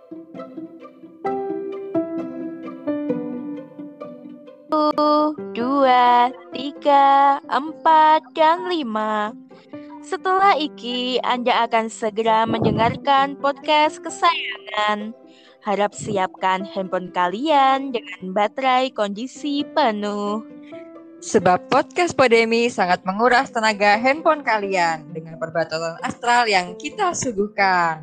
2, 3, 4, dan 5. Setelah iki, Anda akan segera mendengarkan podcast kesayangan. Harap siapkan handphone kalian dengan baterai kondisi penuh. Sebab podcast Podemi sangat menguras tenaga handphone kalian dengan perbatasan astral yang kita suguhkan.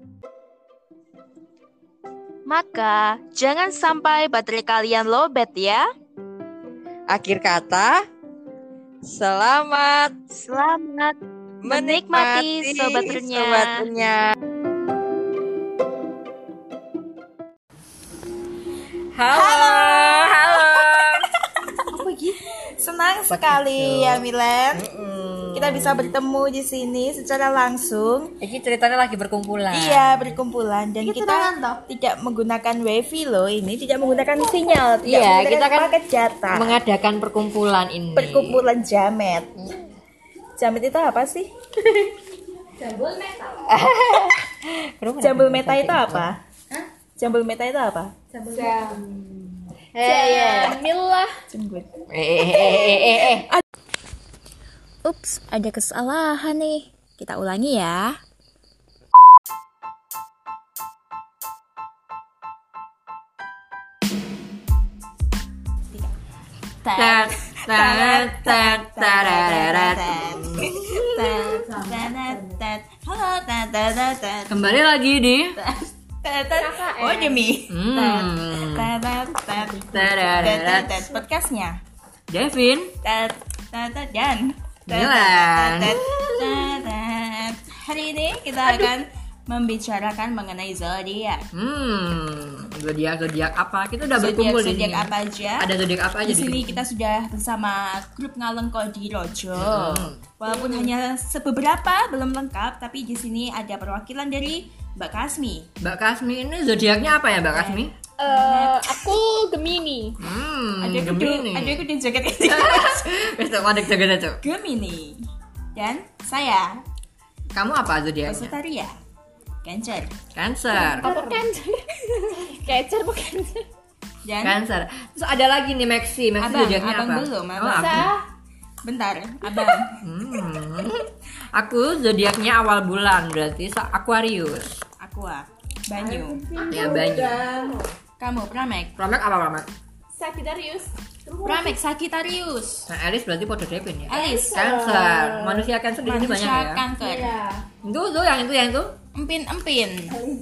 Maka, jangan sampai baterai kalian lowbat ya. Akhir kata, selamat menikmati Sobat Runya. Halo. Apa gitu? Senang sekali ya Milen. Kita bisa bertemu di sini secara langsung. Ini ceritanya lagi berkumpulan. Iya, berkumpulan dan kita tidak menggunakan wifi loh. Ini tidak menggunakan sinyal. Iya, kita kan pakai data. Mengadakan perkumpulan ini. Perkumpulan jamet. Jamet itu apa sih? Jambul metal. Jambul meta itu apa? Jambul meta itu apa? Jamilah. Jembut. Ups, ada kesalahan nih. Kita ulangi ya. Kembali lagi di Oh Demi. Podcastnya Devin dan Milan. Hari ini kita akan membicarakan mengenai zodiak. Zodiak apa? Kita udah berkumpul di sini. Zodiak apa aja? Ada zodiak apa aja di sini? Kita sudah bersama grup Ngalengko di Rojo. Walaupun hanya beberapa belum lengkap, tapi di sini ada perwakilan dari Mbak Kasmi. Mbak Kasmi ini zodiaknya apa ya, Mbak Kasmi? Aku Gemini. Gemini. Ada ikut di jaket ini. Wes tak mandek jaket itu. Gemini. Dan saya Kamu apa zodiaknya? Sagittarius. Cancer. Apa Cancer? Cancer bukan Cancer. Dan Cancer. Terus ada lagi nih Maxi zodiaknya apa? abang belum, abang. Oh, aku. Bentar, abang. Aku zodiaknya awal bulan, berarti Aquarius. Aqua. Banyu. Ya, Banyu. Kamu Pramek. Pramek apa Pramek? Sagittarius. Pramek Sagittarius. Nah, Alice berarti pada Devin ya. Alice. Cancer. Manusia Cancer di sini banyak ya. Kanker. Itu yang itu. Empin.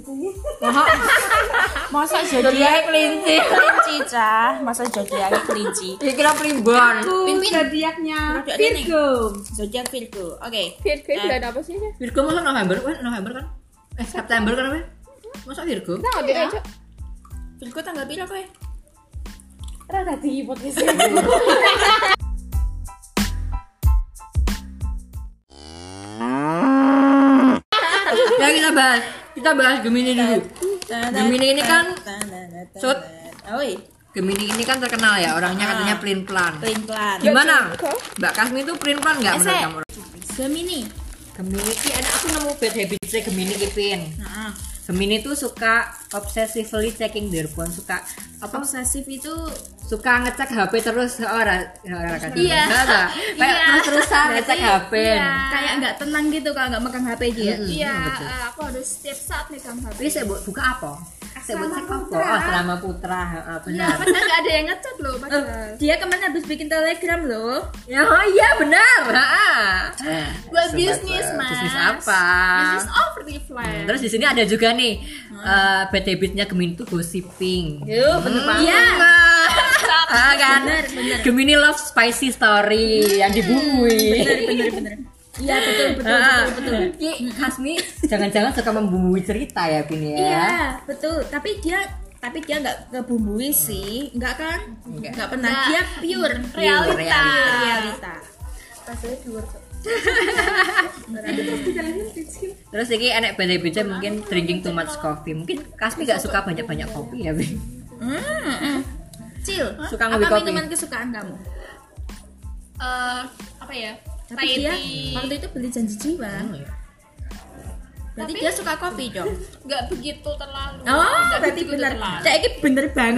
Masa zodiak kelinci. kelinci cah. Masa zodiak kelinci. Kira primbon. Pimpin Zodiaknya Virgo. Zodiak Virgo. Oke. Virgo itu ada apa sih? Virgo masa November kan? September kan apa? Masa Virgo? Nah, nggak beda. Virgo tanggal berapa ya? Rada di podcast ini. Ya kita bahas Gemini dulu. Gemini ini kan Gemini ini kan terkenal ya, orangnya katanya pelin-pelan. Gimana? Mbak Kasmi itu pelin-pelan nggak menurut kamu? Gemini Ki aku nemu bad habitsnya Gemini Kipin. Gemini tuh suka obsessively checking their phone, suka apa? obsesif itu Suka ngecek HP terus orang kan. Iya. Kayak terus-terusan ngecek HP. kayak nggak tenang gitu kalau nggak megang HP dia. Iya, aku harus setiap saat megang HP. Ini saya buka apa? Saya buat cek apa? Putra. Oh, Selama Putra, Iya, benar. padahal nggak ada yang ngechat loh, padahal. Dia kemarin habis bikin Telegram loh. Ya, oh iya benar. Buat bisnis, Mas. Bisnis apa? Bisnis Overflame. Terus di sini ada juga nih bad habitnya Gemini tuh gossiping. Bener banget. Iya. Kan? Gemini love spicy story yang dibumbui. Bener. Iya betul. Ki Kasmi jangan-jangan suka membumbui cerita ya Bin ya. Iya betul. Tapi dia nggak ngebumbui sih, nggak kan? Nggak pernah. Dia pure realita. Rasanya pure. Terus ini enak beda-beda mungkin drinking too much coffee. Mungkin Kasmi gak suka banyak-banyak kopi ya Bin. Cil, Suka apa ngopi kopi. minuman kesukaan kamu? Apa ya? Tapi dia Thai tea. waktu itu beli janji jiwa. Berarti Tapi- dia suka kopi dong. Nggak begitu terlalu. Oh, Nggak berarti begitu benar. terlalu. Cek ini bener banget.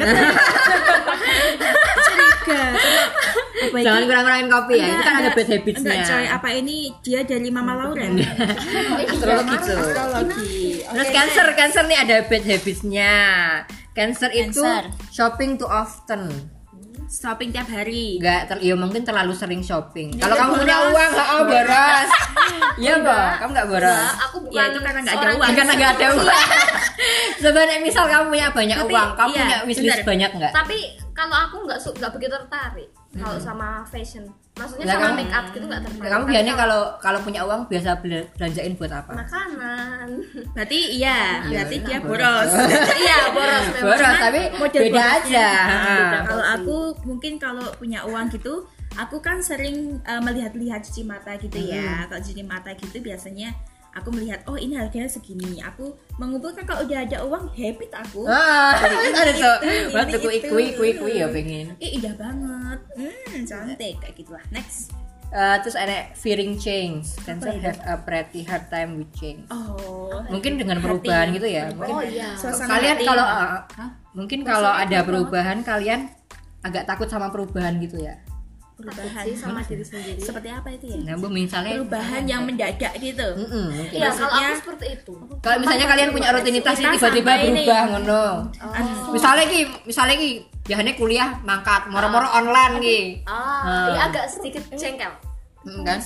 Curiga. Apa Jangan ini? kurang-kurangin kopi ya. Itu kan ada bad habitsnya. Enggak coy, apa ini dia dari Mama Lauren? Astrologi tuh. Astrologi. Terus Cancer nih ada bad habitsnya. Cancer itu Cancer. shopping too often. Shopping tiap hari. Ya mungkin terlalu sering shopping. Kalau kamu punya uang nggak boros. Iya boh, kamu nggak boros. Aku bukan Ya itu karena nggak ada seorang- uang. Karena nggak ada uang. Sebenarnya misal kamu punya banyak Tapi, uang, kamu iya, punya wishlist benar. banyak nggak? Tapi kalau aku nggak begitu tertarik kalau sama fashion. Maksudnya Lah, sama kamu- make up gitu nggak tertarik. Kamu Tapi biasanya kalau punya uang biasa belanjain buat apa? makanan. Berarti iya, berarti dia boros. Iya, boros memang. Boros, tapi Model beda borosnya. aja. Beda. Kalau aku mungkin kalau punya uang gitu, aku kan sering melihat-lihat cuci mata gitu ya. Kalau cuci mata gitu biasanya aku melihat, oh ini harganya segini. Aku mengumpulkan kalau udah ada uang, habit aku. Ada tuh. Ini Buat tuh itu. kui ya pengen. Indah banget. Cantik kayak gitulah. Next. Terus ada fearing change. Cancer have a pretty hard time with change. Oh. Mungkin dengan perubahan gitu ya. Mungkin Oh iya. Suasana kalian hati. kalau mungkin kalau ada perubahan kalian agak takut sama perubahan gitu ya. perubahan sih sama diri sendiri. seperti apa itu ya? Nah, Bu, misalnya Perubahan yang mendadak gitu. mungkin. Iya, kalau Maksudnya- aku seperti itu. Kalau misalnya kalian punya rutinitas Kita tiba-tiba sampai ini. berubah ngono. Oh. Misalnya ki biasanya kuliah mangkat moro-moro online ki. Iya agak sedikit jengkel. Kan?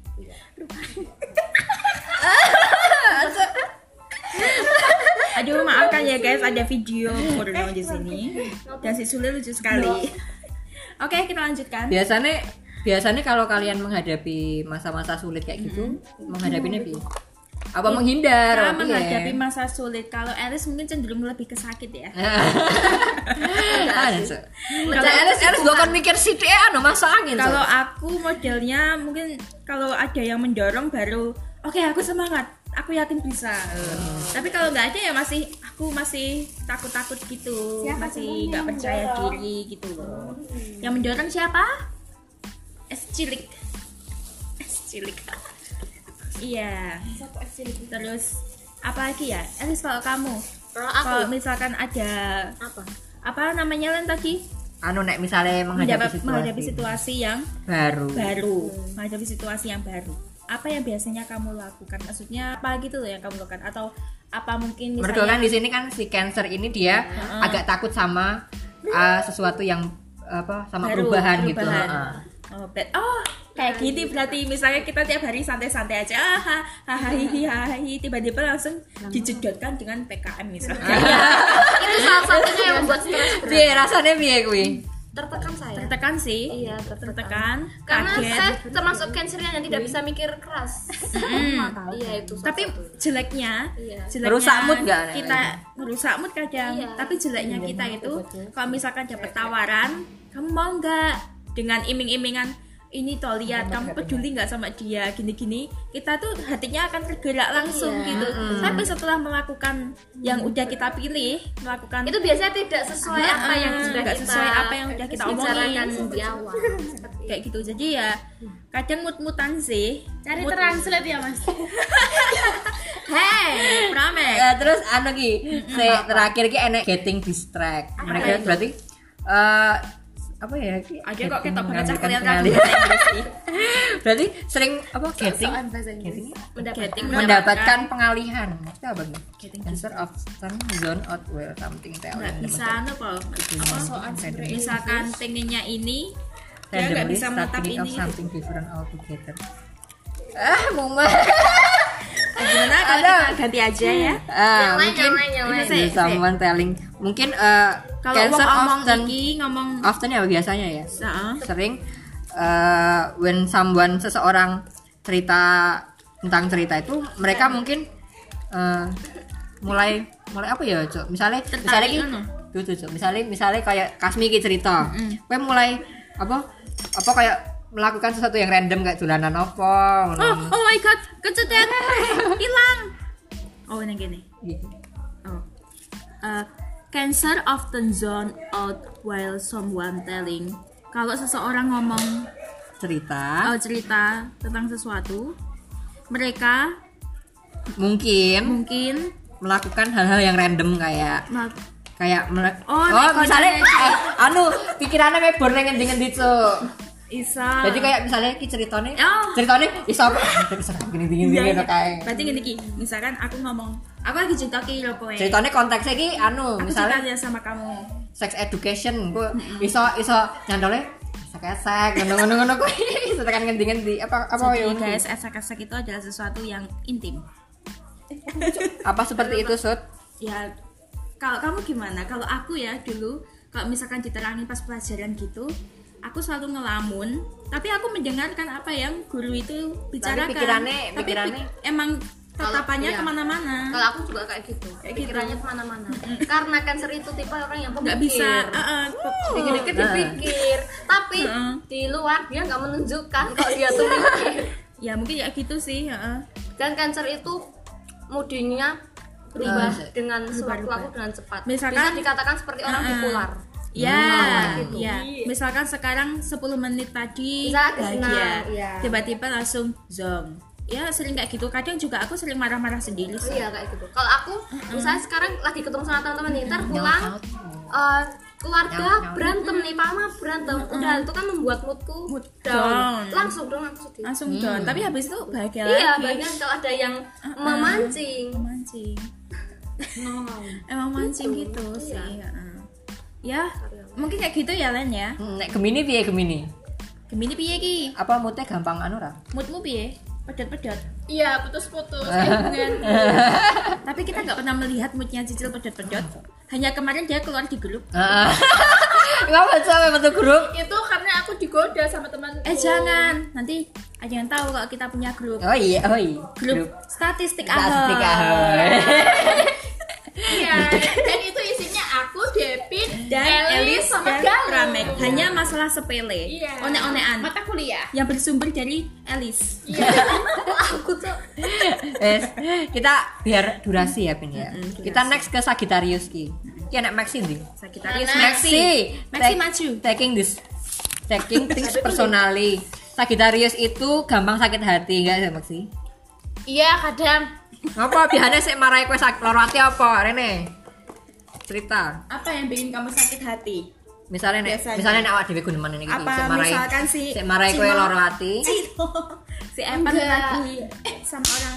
Aduh, maafkan ya guys, ada video porno di sini. Dan si Sule lucu sekali. Oke, kita lanjutkan. Biasanya kalau kalian menghadapi masa-masa sulit kayak gitu, menghadapinya bi apa menghindar? Cara apa menghadapi ya? masa sulit. Kalau Alice mungkin cenderung lebih ke sakit ya. Kalau Elis bukan mikir sih anu masangin. Kalau aku modelnya mungkin kalau ada yang mendorong baru oke, aku semangat, aku yakin bisa. Tapi kalau nggak ada ya aku masih takut-takut gitu, masih nggak percaya diri gitu loh. Yang mendorong siapa? Es cilik. Iya. Terus apa lagi ya? Elis, kalau kamu, Kalau aku kalau misalkan ada apa namanya Len tadi? anu nek misalnya menghadapi situasi yang baru. menghadapi situasi yang baru, apa yang biasanya kamu lakukan? Maksudnya apa gitu loh yang kamu lakukan, atau apa mungkin Mereka kan misalnya di sini kan si Cancer ini dia agak takut sama sesuatu yang apa sama baru, perubahan gitu. Oh, kayak gini berarti misalnya kita tiap hari santai-santai aja, hahaha, tiba-tiba langsung dijedotkan dengan PKM misalnya. itu salah satunya yang membuat stres berat. Piye rasanya piye kuwi? Tertekan saya. Tertekan sih, Iya, tertekan, Karena kaget. saya termasuk cancernya yang tidak bisa mikir keras. Iya itu. salah Tapi satu. jeleknya Merusak mood nggak, Nek? kita merusak mood kadang. Iya. Tapi jeleknya kita itu kalau misalkan dapat tawaran, kamu mau nggak, dengan iming-imingan ini toh lihat kamu peduli nggak sama dia gini-gini, kita tuh hatinya akan tergerak langsung gitu. Sampai setelah melakukan yang udah kita pilih, melakukan itu biasanya tidak sesuai apa yang sudah nggak kita sesuai apa yang udah kita bicarakan omongin. di awal. kayak gitu. Jadi ya kadang mood-moodan sih. Cari Mood- translate ya mas. Hey, Pramek. Terus anu ki, terakhir ki enek getting distract. Mereka berarti apa ya? Ki? Aja kok ketok banget cah Mengambilkan kalian kan pengalihan. bahasa Inggris sih. Berarti sering apa getting Getting mendapatkan pengalihan. Itu apa nih? Cancer often zone out well something nggak bisa anu kok. Misalkan pengennya ini, dia nggak randomly bisa start menetap thinking of ini. something different altogether. Muma. Gimana kalau Ada. kita ganti aja ya? Mungkin yang lain. Sih, someone telling mungkin Kalau Cancer ngomong often ngomong often ya biasanya ya Heeh. sering when seseorang cerita tentang cerita itu mereka mungkin mulai apa ya Cok? misalnya ki anu. Cok. misalnya kayak Kasmi ki cerita kowe mulai apa kayak melakukan sesuatu yang random kayak dolanan apa ngono. Oh my god, kecetet. Hilang. Oh, ini gini. Gitu. Oh. Cancer often zone out while someone telling. Kalau seseorang ngomong cerita cerita tentang sesuatu, mereka mungkin melakukan hal-hal yang random kayak misalnya pikirannya mebor nang ngendi-ngendi cuk. Isa. Jadi kayak misalnya ki ceritane iso bisa gini-gini ngono kae. Berarti gini ki, misalkan aku lagi cerita ki lho kowe. Ceritane konteksnya ki misalnya cerita sama kamu. Sex education ku iso nyantole esek ngono-ngono kowe. Iso tekan ngendi-ngendi apa yo guys, esek-esek itu adalah sesuatu yang intim. Apa seperti itu, Sud? Ya, kalau kamu gimana? Kalau aku ya dulu, kalau misalkan diterangin pas pelajaran gitu, aku selalu ngelamun, tapi aku mendengarkan apa yang guru itu bicarakan. Tapi emang tatapannya kemana-mana. Kalau aku juga kayak gitu, pikirannya kemana-mana. Karena Cancer itu tipe orang yang pemikir. Nggak bisa. Dikit-dikit dipikir, tapi di luar dia nggak menunjukkan kalau dia tuh mikir. Ya mungkin ya gitu sih. Dan Cancer itu mudanya berubah dengan sewaktu-waktu dengan cepat. Misalkan, bisa dikatakan seperti orang bipolar. Gitu. Misalkan sekarang 10 menit tadi bahagia, tiba-tiba langsung zong. Ya sering kayak gitu. Kadang juga aku sering marah-marah sendiri sih. Iya kayak gitu. Kalau aku misalnya sekarang lagi ketemu sama teman-teman nih, ntar pulang keluarga berantem nih, mama berantem, udah itu kan membuat moodku down. Langsung sedih. Langsung down. Tapi habis itu bahagia lagi. Iya, bahagia kalau ada yang memancing. Emang mancing gitu sih. Ya, mungkin kayak gitu ya Len ya. Nek Gemini piye Gemini? Gemini piye ki? Apa moodnya gampang ra? Moodmu piye? Pedot-pedot. Iya, putus-putus. Tapi kita nggak pernah melihat moodnya Cicil pedot-pedot. Hanya kemarin dia keluar di grup. Ngapa sampai bentuk grup? Itu karena aku digoda sama temanku. Jangan. Nanti ada yang tahu kalau kita punya grup. Oh iya. Grup statistik Ahoy. Iya, dan itu isinya aku, Depin, dan Elis sama dan Pramek. Hanya masalah sepele. Iya. One-onean. Mata kuliah. Yang bersumber dari Elis. Iya. Aku tuh. Kita biar durasi ya Pin ya. Kita next ke Sagittarius ki. Ki anak Maxi ndi? Sagittarius Maxi maju. Taking things personally. Sagittarius itu gampang sakit hati enggak sih Maxi? Iya, kadang. Apa biasanya sih marahi kowe sakit loro hati apa Rene? Cerita. Apa yang bikin kamu sakit hati? Misalnya nek awak dhewe guneman iki misalkan si marahi kowe loro hati. Si Evan lagi sama orang.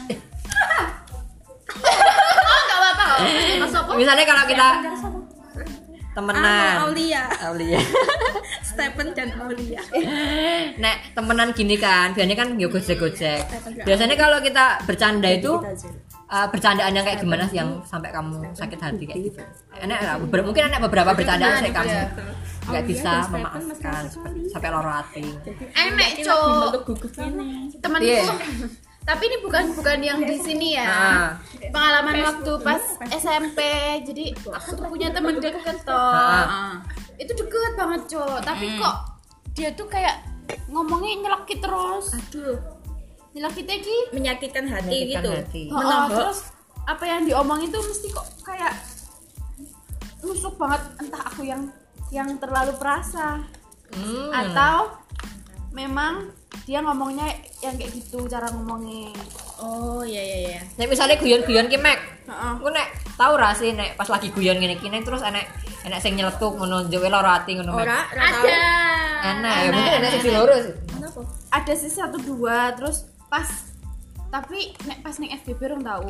Enggak apa-apa kok. Mas Sopo. Misalnya kalau kita temenan. Aulia. Stephen dan Aulia. Nek temenan gini kan, biasanya kan yo gojek-gojek. Biasanya kalau kita bercanda itu bercandaan yang kayak gimana sih yang sampai kamu sakit hati kayak gitu. Mungkin ada beberapa bercandaan sih kamu nggak bisa memaafkan sampai loro hati. Enek cok. Temanku. Tapi ini bukan yang di sini ya. Pengalaman waktu pas SMP. Jadi aku tuh punya teman deket toh. Itu deket banget cok. Tapi kok dia tuh kayak ngomongnya nyelekit terus. Aduh. Nyelekitnya ki menyakitkan hati gitu. Terus apa yang diomongin tuh mesti kok kayak nusuk banget. Entah aku yang terlalu perasa atau memang dia ngomongnya yang kayak gitu cara ngomongnya. Oh iya. Nek misalnya guyon-guyon ki Mek. Ku nek tau ra sih nek pas lagi guyon ngene iki terus enek sing nyeletuk ngono njowe loro ati ngono Mek. Ada. Enak ya mungkin enek sing loro sih. Kenapa? Ada sih 1-2 terus pas tapi nek pas ning FBB rong tau.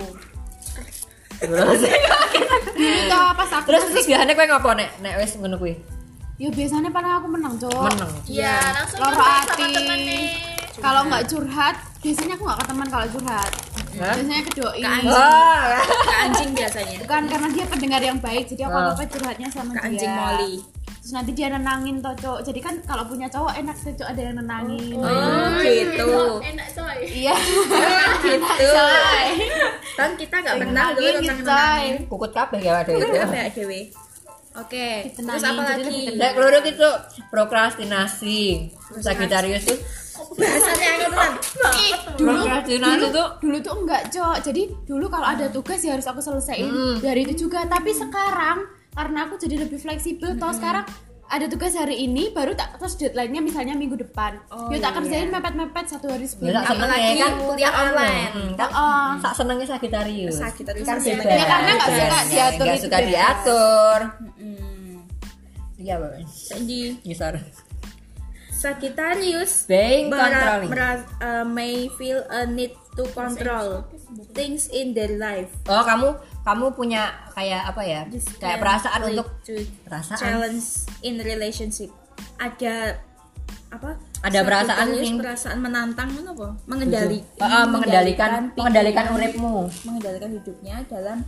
Itu pas aku terus biasanya kowe ngopo nek wis ngono kuwi? Ya biasanya padahal aku menang, Cok. Iya, langsung loro hati. Kalau nggak curhat, biasanya aku nggak ke teman kalau curhat. Biasanya ke doi. Ke anjing biasanya. Bukan karena dia pendengar yang baik, jadi aku apa curhatnya sama dia. Ke anjing Molly. Terus nanti dia nenangin toh, Cok. Jadi kan kalau punya cowok enak sih, Cok, ada yang nenangin. Gitu. Enak, coy. Iya. Gitu. Kan kita nggak pernah dulu nenangin. Kukut kabeh ya ada itu. Dewe. Oke, terus apa lagi? Nek keloro itu prokrastinasi. Sagittarius tuh bahasanya ngono. Prokrastinasi tuh dulu tuh enggak, Cok. Jadi dulu kalau ada tugas ya harus aku selesaiin dari itu juga. Tapi sekarang karena aku jadi lebih fleksibel toh sekarang ada tugas hari ini baru terus deadline-nya misalnya minggu depan. Tak kerjain mepet-mepet 1 hari sebelum. Apalagi kan kuliah online. Sak senengnya Sagittarius. Sagittarius kan kan bebas. Ya, karena nggak suka diatur Nggak itu suka bebas. diatur. Iya, Bang. Jadi Ngisor. Sagittarius Being controlling. may feel a need to control things in their life. Oh, kamu punya kayak apa ya? Kayak perasaan untuk perasaan. Challenge in relationship. Ada apa? Ada perasaan Sagittarius, yang perasaan menantang apa? mengendalikan uripmu. Mengendalikan hidupnya dalam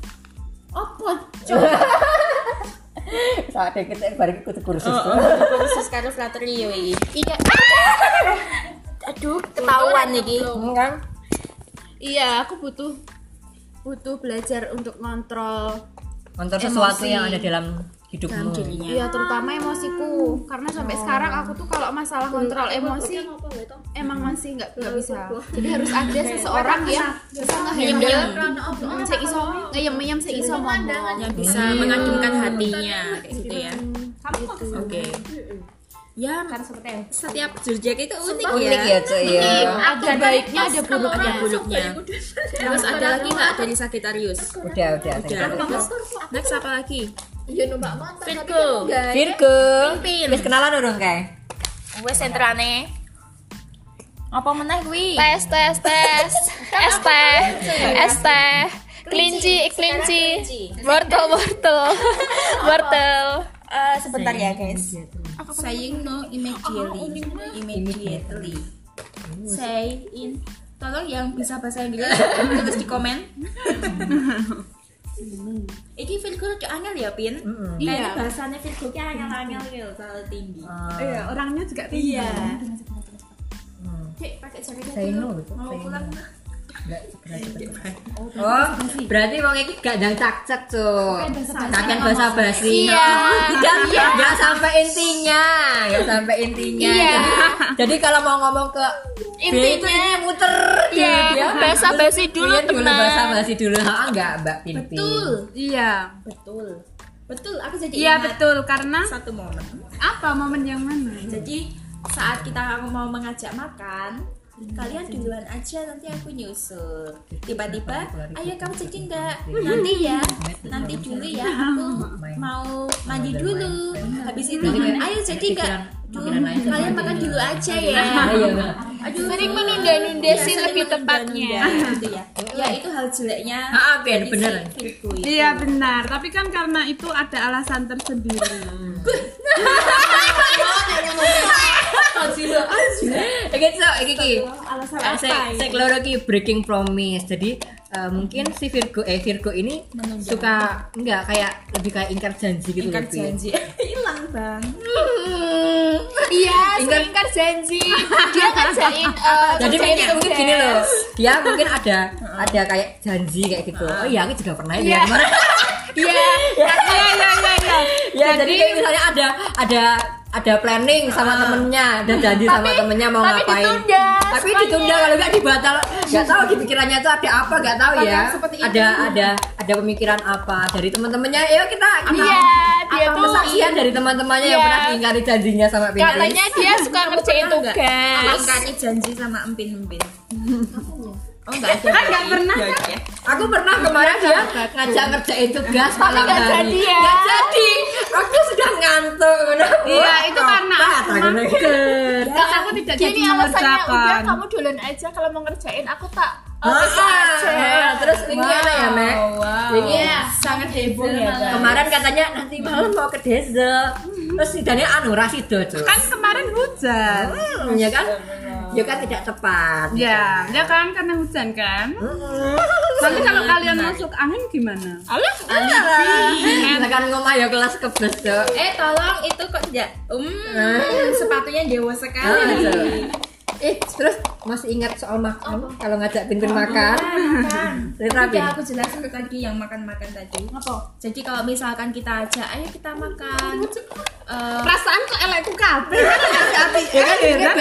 Saat kita balik ikut kursus. kursus karo flattery yo iki. Aduh, ketahuan iki. Kan? Iya, aku butuh belajar untuk kontrol Sesuatu yang ada dalam hidupmu. Iya, terutama emosiku. Karena sampai sekarang aku tuh kalau masalah kontrol emosi emang masih nggak bisa. Jadi harus ada seseorang yang bisa ngehandle, sing iso ngeyem sing iso ngomong, Yang bisa mengademkan hatinya kayak gitu ya. Oke. Ya, setiap Jurjek itu unik Ya, cuy ya. ada baiknya ada buruknya. buruknya. Terus ada lagi nggak dari Sagittarius? Udah. Next apa lagi? Iya, Mbak Mantap. Virgo. Wis kenalan urung kae? Wes sentrane. Apa meneh kuwi? Tes. ST. Kelinci. Wortel. Sebentar ya guys. Saying no immediately. Say in. Tolong yang bisa bahasa Inggris tulis di komen. Iki Virgo rada angel ya, Pin? Iya. Bahasanya Virgo ki angel-angel gitu, terlalu tinggi. Iya, orangnya juga tinggi. Iya. Cek pakai jaket. Say no gitu. Mau pulang. Oh, berarti wong iki gak ndang cak-cak, Cuk. Kakek basa-basi. Iya. Enggak sampai intinya. Jadi kalau mau ngomong ke B itu ini muter Iya, basa-basi dulu, teman. Basa-basi dulu. Enggak, Mbak Pinpin. Iya. Betul, aku jadi Iya, ingat betul. Karena satu momen. apa momen yang mana? Jadi saat kita mau mengajak makan, kalian duluan aja, nanti aku nyusul. Tiba-tiba, ayo kamu jadi enggak? Nanti dulu ya, aku mau mandi dulu. Habis itu, ayo jadi enggak? Kalian makan dulu aja ya. Aduh, Sering menunda-nunda sih lebih tepatnya. Gitu ya. Ya itu hal jeleknya. Bener. Virgo itu. Iya benar, tapi kan karena itu ada alasan tersendiri. Iki saya keloro ki breaking promise. Jadi mungkin si Virgo ini suka enggak kayak lebih kayak ingkar janji gitu. Ingkar janji. Hilang, Bang. Iya, ingkar janji. Dia ngerjain Jadi mungkin gini loh. Dia mungkin ada kayak janji kayak gitu. Oh iya, aku juga pernah ya. Iya. Ya, jadi kayak misalnya ada planning sama temennya dan janji sama temennya mau ngapain. Tapi ditunda kalau nggak dibatal. Nggak tahu di pikirannya itu ada apa, nggak tahu ya. Ada pemikiran apa dari teman-temannya. Ayo kita dia tuh kesaksian dari teman-temannya yang pernah diingkari janjinya sama Pinpin. katanya dia suka ngerjain tugas. Ingkari janji sama empin-empin. Oh enggak ada. Enggak pernah. Aku pernah kemarin dia ngajak ngerjain tugas malam nggak hari. jadi ya. Nggak jadi. Aku sudah ngantuk. Iya, itu karena aku aku tidak jadi Gini alasannya, udah mengerjakan. kamu duluan aja, kalau mau ngerjain aku tak Terus ini enak ya, Mek? Ini Sangat heboh ya, Bang. kemarin katanya nanti malam mau ke desa. Terus sidangnya rasido, Cuk. Kan kemarin hujan. Ya kan? Ya kan tidak tepat. Ya kan karena hujan kan. Nanti kalau kalian masuk angin gimana? Tekan ngomah ya kelas kebes, Cuk. Tolong itu kok tidak sepatunya dewa sekali. Terus masih ingat soal makan kalau ngajak Pinpin makan? Cerita Pin. Udah aku jelasin tadi yang makan-makan tadi. Jadi kalau misalkan kita ajak, ayo kita makan. Perasaan kok elekku kabeh. Ya kan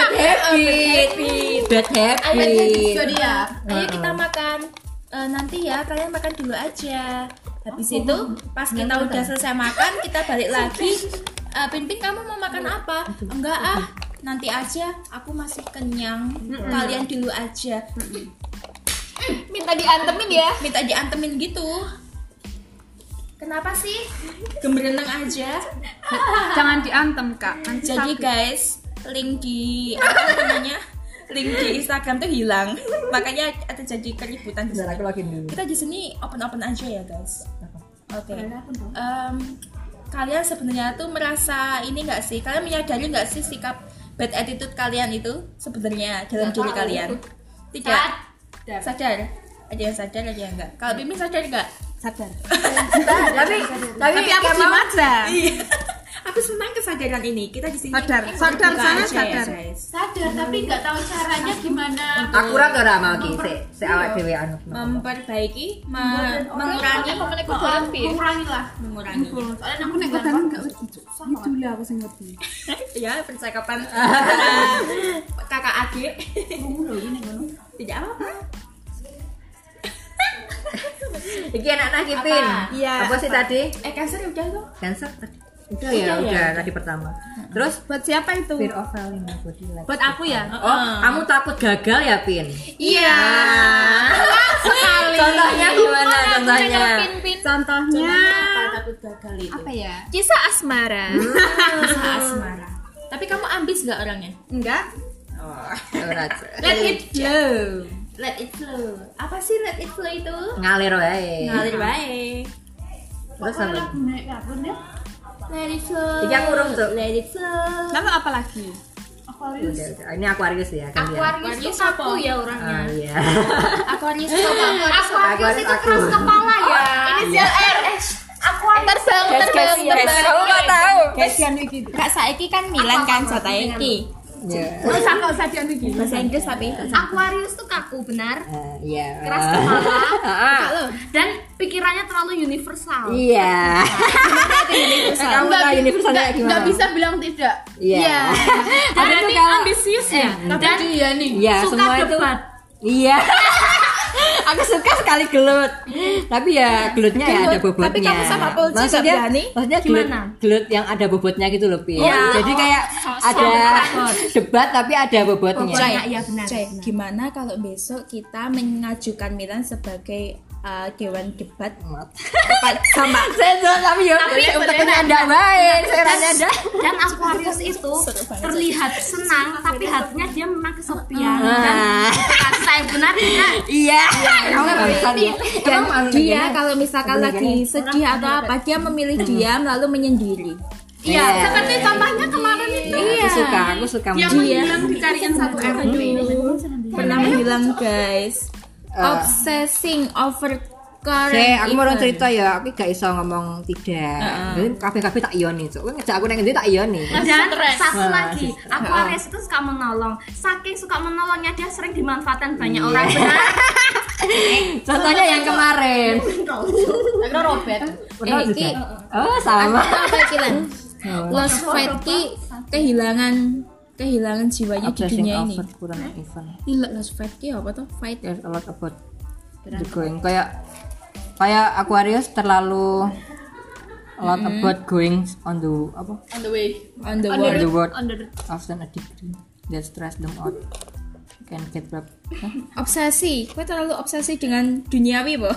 bad habit. Jadi ya, ayo kita makan. Nanti ya kalian makan dulu aja. Habis itu pas kita udah selesai makan, kita balik lagi. Pinpin kamu mau makan apa? Enggak ah, nanti aja, aku masih kenyang. Kalian dulu aja. Minta diantemin ya. Minta diantemin gitu. Kenapa sih? Gembereneng aja. Jangan diantem Kak. Nanti Jadi sakit. guys, link di apa namanya? Link di Instagram tuh hilang. Makanya ada jadi keributan di Bentar, sini. aku login dulu. Kita di sini open aja ya guys. Oke. Kalian sebenarnya tuh merasa ini nggak sih? Kalian menyadari nggak sih sikap bad attitude kalian itu sebenarnya dalam diri kalian? Tidak. Sadar. Ada yang sadar, ada yang enggak. Kalau Bimbing sadar nggak? Sadar. Tapi aku kamu diem aja. Iya. Aku senang kesadaran ini. Kita di sini Sadar buka sangat aja ya, sadar. guys. Sadar tapi nggak tahu caranya gimana. akurat ora mau ki sik awak dhewe anu. Memperbaiki, mengurangi, Mengurangi lah. mengurangi. Soalnya aku nek Kan enggak ngerti. Itu lah aku sing ngerti. Ya percakapan kakak adik. Tidak apa-apa. Iki anak Kipin. Iya. Apa sih tadi? Cancer udah tuh. Cancer tadi. Udah ya, udah tadi pertama. Terus Buat siapa itu? fear of failing body like. Buat aku ya. Oh, kamu takut gagal ya, Pin? Iya. sekali. Contohnya gimana contohnya? Contohnya Takut gagal itu. apa ya? Kisah asmara. Kisah asmara. Tapi kamu ambis gak orangnya? Enggak. Let it flow. Let it flow. Apa sih let it flow itu? Ngalir wae. Ngalir baik. Terus apa? Let it flow. Iki aku urung, Cuk. Let it flow. Lalu apa lagi? Udah. Ini Aquarius ya kan dia. Aquarius itu kaku ya orangnya. Ah iya. Aquarius Aquarius itu keras kepala ya. Inisial R. Aquarius terbang. Kamu enggak tahu. Kasihan iki. Kak saiki kan Milan kan jatahnya iki. Iya. Terus aku sadian iki. Bahasa Inggris tapi. Aquarius tuh kaku benar. Iya. Keras kepala Ah. dan pikirannya terlalu universal. Iya. Kamu tahu universalnya gimana? Nggak bisa bilang tidak. Iya. Dan Tapi ini kalau- ambisius ya. Dan dia nih Iya, suka semua itu. debat. Iya. Aku suka sekali gelut. Tapi ya gelutnya ya ada bobotnya. Tapi kamu sama Polci nggak Maksudnya berani? gelut, Gimana? gelut yang ada bobotnya gitu loh, Pi. Iya. Jadi kayak ada debat tapi ada bobotnya. Iya benar. Cek, gimana kalau besok kita mengajukan Milan sebagai dewan debat sama Tapi ya uteknya ada baik, seranya ada. Dan Aquarius itu terlihat senang tapi hatinya dia memang kesepian. Dan saya benar tidak. Iya. Kamu kan barusan ya. dan Kamu dia kalau misalkan lagi sedih atau apa dia memilih diam lalu menyendiri. Iya, seperti contohnya kemarin itu. Aku suka Dia menghilang dicariin satu RT. Pernah menghilang guys. Obsessing over current aku mau event. cerita ya, aku gak iso ngomong tidak. Jadi kafe-kafe tak ioni, Cuk. Kowe ngejak aku nang ngendi tak ioni. Dan satu lagi, Aquarius itu suka menolong. Saking suka menolongnya dia sering dimanfaatkan banyak orang. Benar. Contohnya yang kemarin. Akhirnya Robert. Benar juga. Ki, Oh, sama. apa Kilan? Lost fight ki kehilangan jiwanya di Obsessing dunia ini. over kurang event. Gila, lost fight ki apa tuh? Fight. There's a lot about the going. Kayak Aquarius terlalu a lot about going on the apa? On the way. On the On world. the world. On the Often a degree that stress them out. Can get back. Obsesi. Gue terlalu obsesi dengan duniawi, Bo.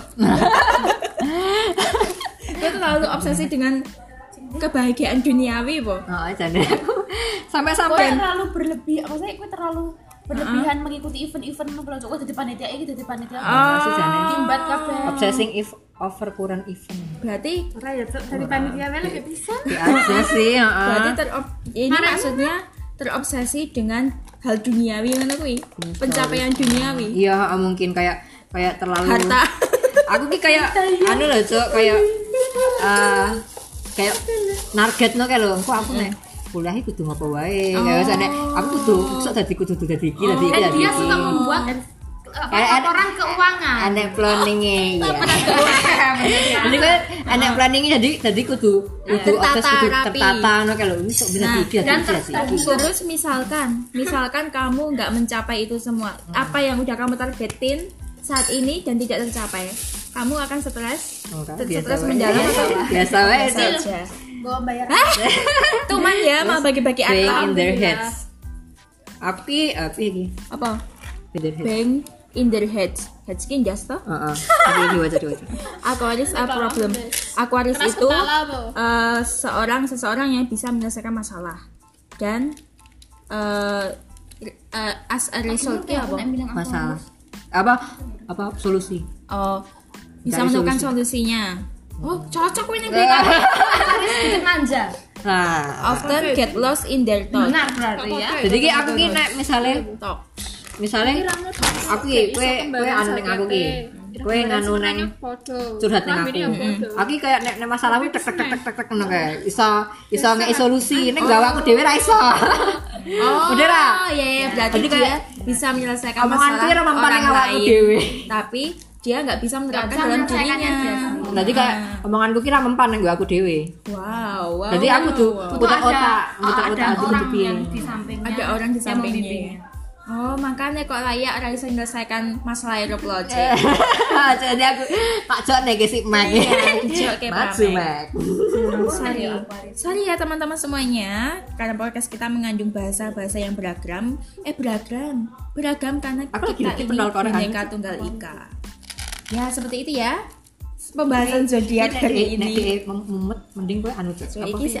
Gue terlalu obsesi dengan kebahagiaan duniawi, Bo. Oh, jadi aku sampai-sampai terlalu berlebih. Maksudnya gue terlalu berlebihan mengikuti event-event lo kalau gue jadi panitia iki jadi panitia. masih jane. Timbat kabeh. Obsessing if over kurang event. Berarti Dari panitia mana gak bisa? Ya aja sih, berarti ini maksudnya terobsesi dengan hal duniawi ngono kuwi. Pencapaian duniawi. Iya, mungkin kayak terlalu Harta. Aku ki kayak anu loh, Cuk, kayak targetno kayak lho, aku nek kuliah iki kudu ngopo wae. Kayak nek aku kudu dadi iki, dadi iki. Dan dia suka membuat laporan keuangan. Aneh planningnya ya. Jadi kan aneh planningnya jadi kudu Tertata, kudu rapi. tertata no kalau bisa bisa Nah, iki dan Terus misalkan kamu nggak mencapai itu semua, apa yang udah kamu targetin saat ini dan tidak tercapai, kamu akan stres? Stres mendalam atau biasa wae. biasa aja? Gua bayar. Tuman ya mau bagi-bagi Bang akal. in their heads. Api iki. Apa? In their heads. Bang in their heads. Head skin just toh? Heeh. Tapi diwaca. Aquarius a problem. Aquarius Keras itu kepala, Bu. seseorang yang bisa menyelesaikan masalah dan as a resultnya apa? Masalah. Apa solusi? Oh, bisa Cari menemukan solusi. solusinya. Oh, cocok ini kita. Sedikit manja. Nah, Often get lost in their thought. Benar berarti ya. jadi ki aku ki nek Talk. misalnya aku ki kowe anu ning aku ki. Kowe nganu neng curhat ning aku. Aku ki kayak nek masalah tek ngono kae. Iso ngeki solusi, nek gawe aku dhewe ra iso. Oh, Udah ra? iya, berarti Jadi dia kayak bisa menyelesaikan omongan masalah kira mempan orang ning awakku lain. dhewe. Tapi dia nggak bisa menerapkan bisa dalam menyelesaikannya dirinya. Jadi kayak omonganku kira mempan ning aku dhewe. Wow. Jadi aku tuh putar otak, Ada aku orang piye. yang di sampingnya. Ada orang di yang sampingnya. membimbing. Oh, makanya kok layak ora bisa menyelesaikan masalah aeroplot. Jadi aku tak jok nek si Mac. dijok kayak Maju Mac. Mac. Sorry ya teman-teman semuanya, karena podcast kita mengandung bahasa-bahasa yang beragam. Beragam karena Aku lagi kita ngerti ini pendal Korea. Bhinneka Tunggal Ika. Ya seperti itu ya. Pembahasan zodiak hari Nek ini. mumet mending kowe anu So, apa iki sih?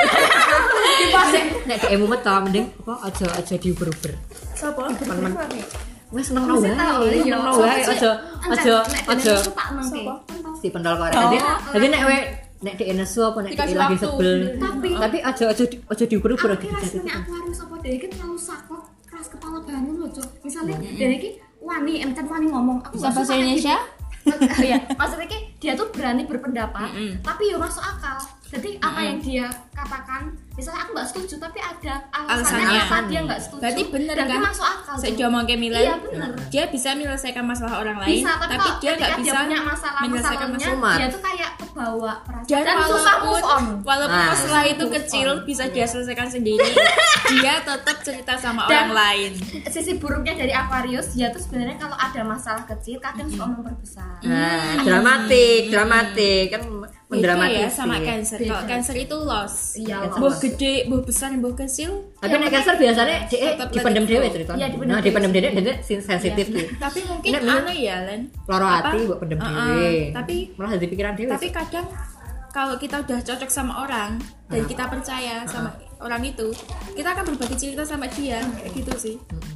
si Nek kayak mumet to mending apa aja diuber-uber. Sopo? Wes seneng wae. Seneng wae aja si pendal Korea. Jadi nek kowe nek dhek nesu apa nek dhek lagi sebel. Tapi aja diuber-uber lagi. Nek aku harus apa dhewe iki terlalu sakit, keras kepala banget loh, Cuk. Misale dhewe iki wani ngomong, aku Bisa bahasa Indonesia? Iya, maksudnya ki dia tuh berani berpendapat, tapi ya masuk akal. Jadi apa yang dia katakan, misalnya aku nggak setuju, tapi ada alasannya Alasannya. kenapa dia nggak setuju. Berarti bener dan kan? dia masuk akal. Saya Cuk. ngomong ke Milan, Iya bener. dia bisa menyelesaikan masalah orang lain, Bisa, tapi, tapi kalau dia nggak ketika bisa punya masalah menyelesaikan masalahnya, masalah. dia tuh kayak kebawa perasaan Dan, dan susah move on. walaupun Nah. masalah itu kecil bisa dia selesaikan sendiri, dia tetap cerita sama Dan- orang lain. Sisi buruknya dari Aquarius, dia tuh sebenarnya kalau ada masalah kecil kadang suka memperbesar. Nah, dramatik kan Beda mendramatis. ya sama Cancer. Kalau Cancer itu loss. Iya, Buh gede, buh besar, buh kecil. Tapi nek Cancer biasanya Tetap dipendem let it dhewe flow. ceritanya. Iya, dipendem Nah, dipendem dhewe jadi sensitif ki. Tapi mungkin Nek Milan anu ya, Len. loro Apa? ati mbok pendem Uh-uh. dhewe. Tapi malah jadi pikiran dhewe. tapi kadang kalau kita udah cocok sama orang dan kita percaya sama orang itu, kita akan berbagi cerita sama dia kayak gitu sih.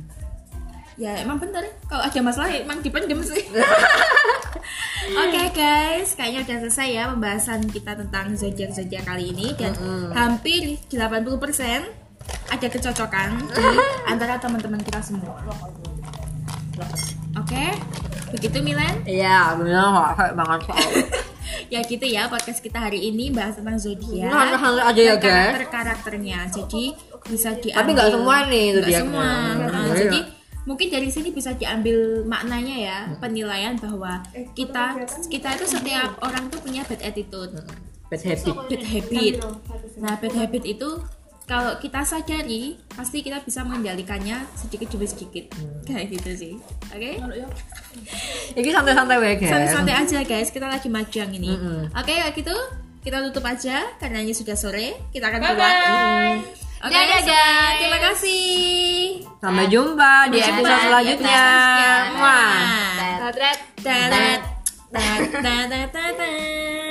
Ya emang bener kalau ada masalah emang dipendem sih. Oke guys, kayaknya udah selesai ya pembahasan kita tentang zodiak kali ini dan hampir 80% ada kecocokan di antara teman-teman kita semua. Oke, begitu Milan. Iya, benar kayak banget soal. Ya gitu ya podcast kita hari ini bahas tentang zodiak. Nah, aja ya, guys. Karakternya. Jadi bisa diambil. Tapi nggak semua nih Nggak zodiaknya. semua. Nah, Iya. jadi mungkin dari sini bisa diambil maknanya ya, penilaian bahwa kita itu setiap orang tuh punya bad attitude, Bad habit. bad habit. Nah, bad habit itu kalau kita sadari pasti kita bisa mengendalikannya sedikit demi sedikit. Kayak gitu sih. Oke? Ini santai-santai wae, guys. Santai-santai aja guys, kita lagi majang ini. Mm-mm. Oke, kayak gitu kita tutup aja karena ini sudah sore. Kita akan keluar. Oke, Dadah, guys. terima kasih. Sampai jumpa di episode selanjutnya. Wah. Dadah. Dadah. Dadah. Dadah.